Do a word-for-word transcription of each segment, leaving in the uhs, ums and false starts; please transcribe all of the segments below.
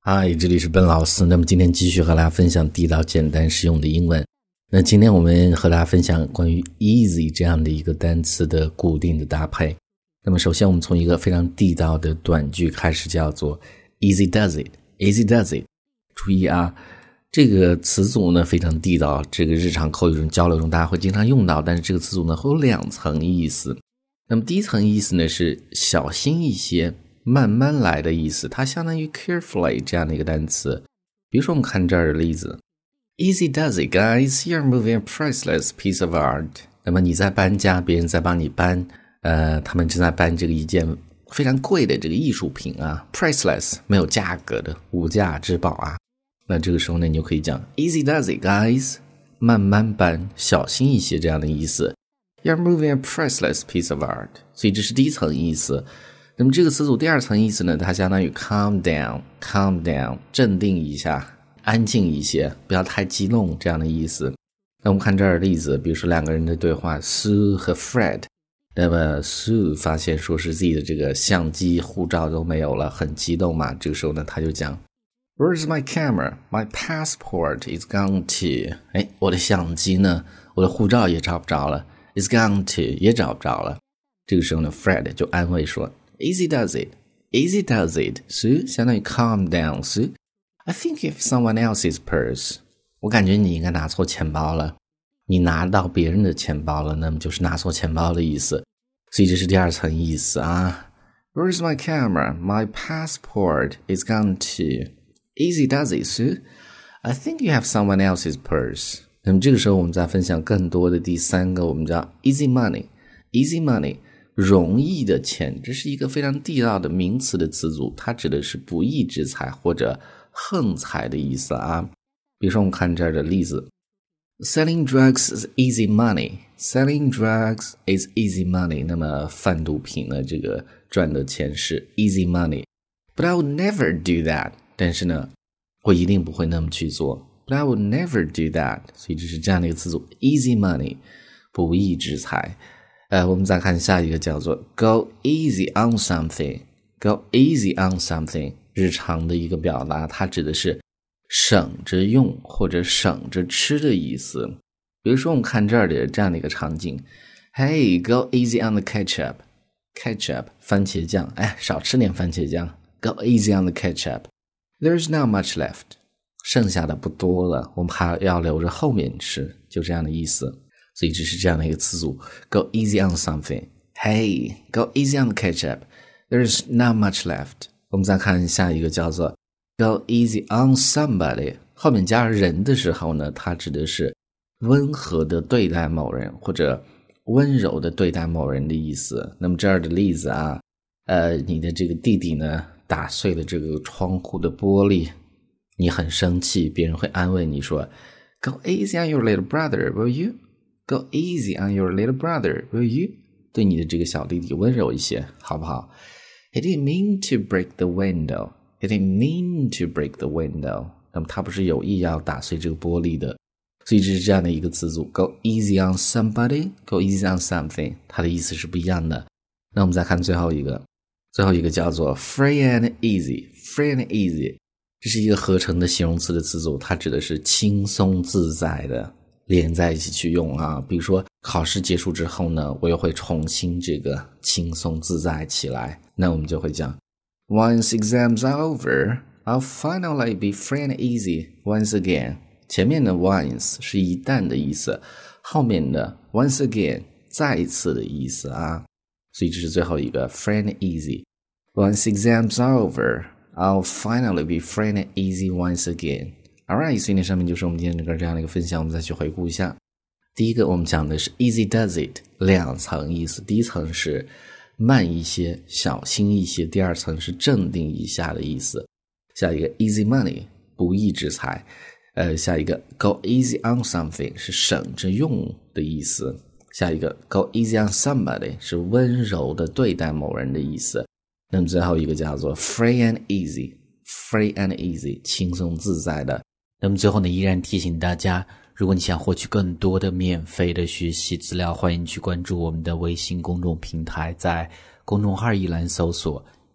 嗨，这里是笨老师。那么今天继续和大家分享地道简单实用的英文。那今天我们和大家分享关于 easy 这样的一个单词的固定的搭配。那么首先我们从一个非常地道的短句开始，叫做 easy does it easy does it。 注意啊，这个词组呢非常地道，这个日常口语中交流中大家会经常用到，但是这个词组呢会有两层意思。那么第一层意思呢是小心一些，慢慢来的意思，它相当于 carefully 这样的一个单词。比如说我们看这儿的例子， Easy does it guys, you're moving a priceless piece of art。 那么你在搬家，别人在帮你搬，呃，他们正在搬这个一件非常贵的这个艺术品啊 priceless 没有价格的无价之宝啊。那这个时候呢你就可以讲 Easy does it guys， 慢慢搬，小心一些这样的意思。 You're moving a priceless piece of art， 所以这是第一层意思。那么这个词组第二层意思呢，它相当于 calm down calm down 镇定一下，安静一些，不要太激动这样的意思。那我们看这儿的例子，比如说两个人的对话 Sue 和 Fred。 那么 Sue 发现说是自己的这个相机护照都没有了，很激动嘛，这个时候呢他就讲 Where's my camera? My passport is gone too。 诶，我的相机呢，我的护照也找不着了， is gone too 也找不着了。这个时候呢 Fred 就安慰说Easy does it Easy does it Sue 相当于 calm down Sue I think you have someone else's purse。 我感觉你应该拿错钱包了，你拿到别人的钱包了，那么就是拿错钱包的意思。所以这是第二层意思啊。 Where's my camera? My passport is gone too. Easy does it Sue I think you have someone else's purse。 那么这个时候我们再分享更多的第三个，我们叫 easy money Easy money容易的钱，这是一个非常地道的名词的词组，它指的是不义之财或者横财的意思啊。比如说我们看这儿的例子， Selling drugs is easy money Selling drugs is easy money。 那么贩毒品呢，这个赚的钱是 easy money。 But I would never do that。 但是呢我一定不会那么去做， But I would never do that。 所以这是这样的一个词组 easy money， 不义之财。呃，我们再看下一个叫做 Go easy on something Go easy on something， 日常的一个表达，它指的是省着用或者省着吃的意思。比如说我们看这儿的这样的一个场景， Hey, go easy on the ketchup Ketchup 番茄酱，哎，少吃点番茄酱， Go easy on the ketchup There's not much left， 剩下的不多了，我们还要留着后面吃，就这样的意思。所以这是这样的一个词组 Go easy on something Hey, go easy on the ketchup There's not much left。 我们再看下一个叫做 Go easy on somebody， 后面加人的时候呢，它指的是温和的对待某人或者温柔的对待某人的意思。那么这儿的例子啊，呃，你的这个弟弟呢打碎了这个窗户的玻璃，你很生气，别人会安慰你说 Go easy on your little brother will you Go easy on your little brother, will you？ 对你的这个小弟弟温柔一些，好不好？ He didn't mean to break the window. He didn't mean to break the window. 那么他不是有意要打碎这个玻璃的。所以这是这样的一个词组 Go easy on somebody, go easy on something， 它的意思是不一样的。那我们再看最后一个，最后一个叫做 free and easy Free and easy， 这是一个合成的形容词的词组，它指的是轻松自在的，连在一起去用啊。比如说考试结束之后呢，我又会重新这个轻松自在起来，那我们就会讲 Once exams are over, I'll finally be free and easy once again。 前面的 once 是一旦的意思，后面的 once again 再一次的意思啊。所以这是最后一个 free and easy Once exams are over, I'll finally be free and easy once again。Alright， 所以那上面就是我们今天整个这样的一个分享，我们再去回顾一下。第一个我们讲的是 easy does it， 两层意思，第一层是慢一些，小心一些，第二层是镇定一下的意思。下一个 easy money， 不义之财。呃，下一个 go easy on something 是省着用的意思。下一个 go easy on somebody 是温柔的对待某人的意思。那么最后一个叫做 free and easy Free and easy 轻松自在的。那么最后呢，依然提醒大家，如果你想获取更多的免费的学习资料，欢迎去关注我们的微信公众平台，在公众号一栏搜索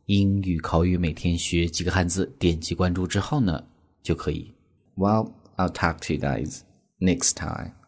英语口语每天学几个汉字，点击关注之后呢就可以。 Well, I'll talk to you guys next time.